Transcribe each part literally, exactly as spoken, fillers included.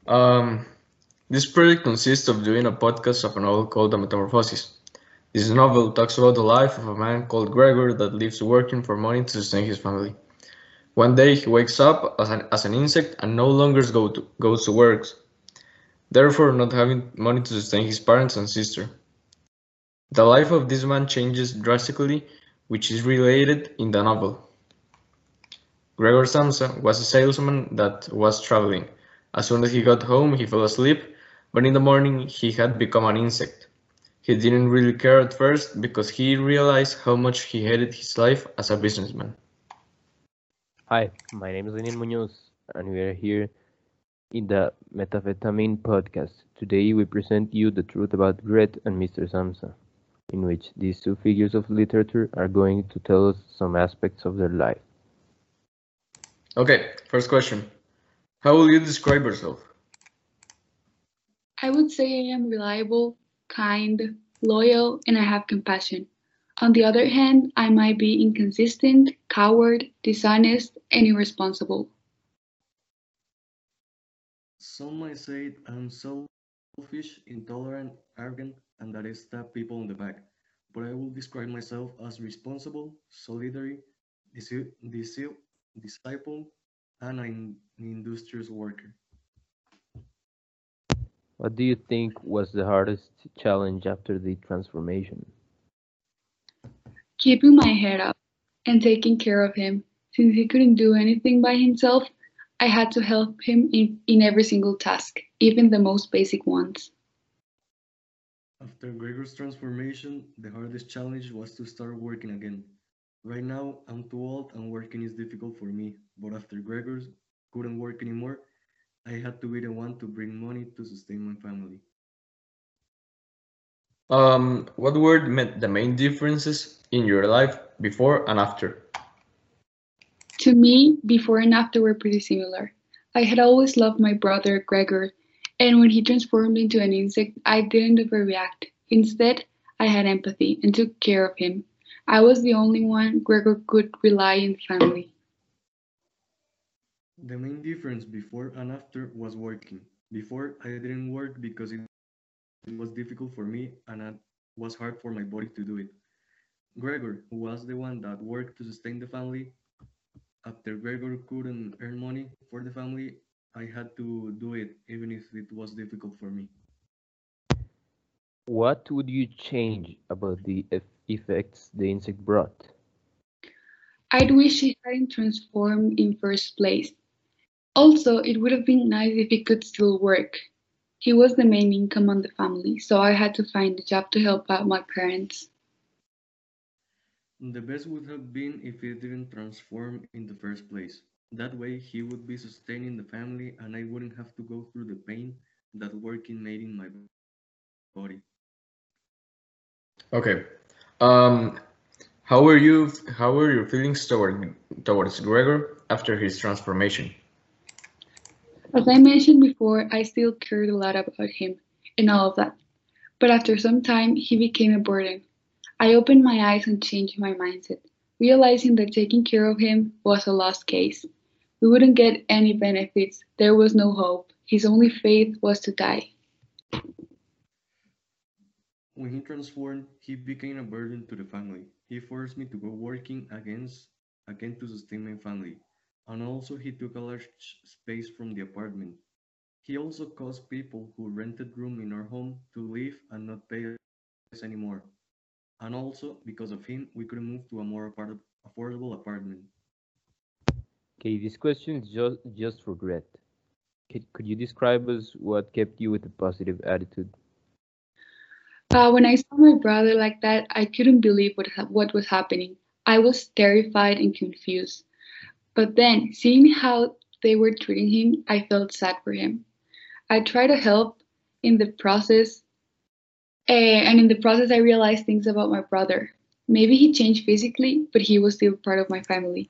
Um, this project consists of doing a podcast of a novel called The Metamorphosis. This novel talks about the life of a man called Gregor that lives working for money to sustain his family. One day he wakes up as an, as an insect and no longer go to, goes to work, therefore not having money to sustain his parents and sister. The life of this man changes drastically, which is related in the novel. Gregor Samsa was a salesman that was traveling. As soon as he got home, he fell asleep, but in the morning he had become an insect. He didn't really care at first because he realized how much he hated his life as a businessman. Hi, my name is Lenin Munoz, and we are here in the Metafetamine podcast. Today we present you the truth about Gret and Mister Samsa, in which these two figures of literature are going to tell us some aspects of their life. Okay, first question. How will you describe yourself? I would say I am reliable, kind, loyal, and I have compassion. On the other hand, I might be inconsistent, coward, dishonest, and irresponsible. Some might say I'm selfish, intolerant, arrogant, and that I stab people in the back. But I will describe myself as responsible, solidary, disi- disi- disciple, and an industrious worker. What do you think was the hardest challenge after the transformation? Keeping my head up and taking care of him. Since he couldn't do anything by himself, I had to help him in, in every single task, even the most basic ones. After Gregor's transformation, the hardest challenge was to start working again. Right now, I'm too old and working is difficult for me, but after Gregor's couldn't work anymore, I had to be the one to bring money to sustain my family. Um, what were the the main differences in your life before and after? To me, before and after were pretty similar. I had always loved my brother, Gregor, and when he transformed into an insect, I didn't overreact. Instead, I had empathy and took care of him. I was the only one Gregor could rely in the family. The main difference before and after was working. Before, I didn't work because it was difficult for me and it was hard for my body to do it. Gregor, who was the one that worked to sustain the family, after Gregor couldn't earn money for the family, I had to do it even if it was difficult for me. What would you change about the eff- effects the insect brought? I'd wish he hadn't transformed in first place. Also, it would have been nice if he could still work. He was the main income on the family, so I had to find a job to help out my parents. The best would have been if it didn't transform in the first place. That way, he would be sustaining the family and I wouldn't have to go through the pain that working made in my body. Okay. Um, how were you? How were your feelings toward towards Gregor after his transformation? As I mentioned before, I still cared a lot about him and all of that. But after some time, he became a burden. I opened my eyes and changed my mindset, realizing that taking care of him was a lost case. We wouldn't get any benefits. There was no hope. His only faith was to die. When he transformed, he became a burden to the family. He forced me to go working against, again to sustain my family. And also, he took a large space from the apartment. He also caused people who rented room in our home to leave and not pay us anymore. And also, because of him, we couldn't move to a more appar- affordable apartment. Okay, this question is just, just for Gret. Could, could you describe us what kept you with a positive attitude? Uh, when I saw my brother like that, I couldn't believe what, ha- what was happening. I was terrified and confused. But then, seeing how they were treating him, I felt sad for him. I tried to help in the process, eh, and in the process, I realized things about my brother. Maybe he changed physically, but he was still part of my family.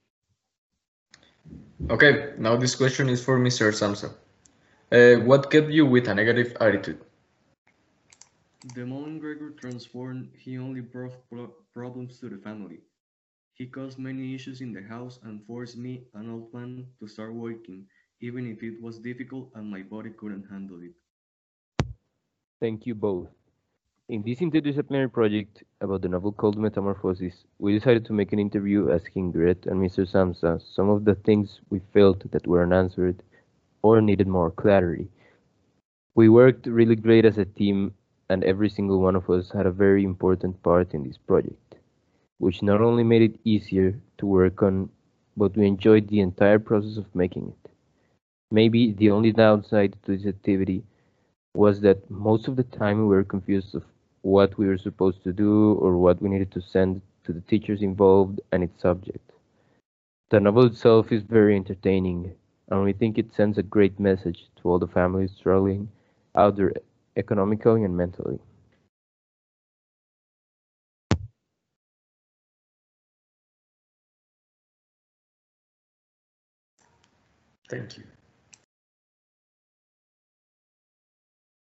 Okay, now this question is for Mister Samsa. Uh, what kept you with a negative attitude? The moment Gregor transformed, he only brought pro- problems to the family. He caused many issues in the house and forced me, an old man, to start working, even if it was difficult and my body couldn't handle it. Thank you both. In this interdisciplinary project about the novel called Metamorphosis, we decided to make an interview asking Gret and mister Samsa some of the things we felt that were unanswered or needed more clarity. We worked really great as a team, and every single one of us had a very important part in this project, which not only made it easier to work on, but we enjoyed the entire process of making it. Maybe the only downside to this activity was that most of the time we were confused of what we were supposed to do or what we needed to send to the teachers involved and its subject. The novel itself is very entertaining, and we think it sends a great message to all the families struggling out there economically and mentally. Thank you.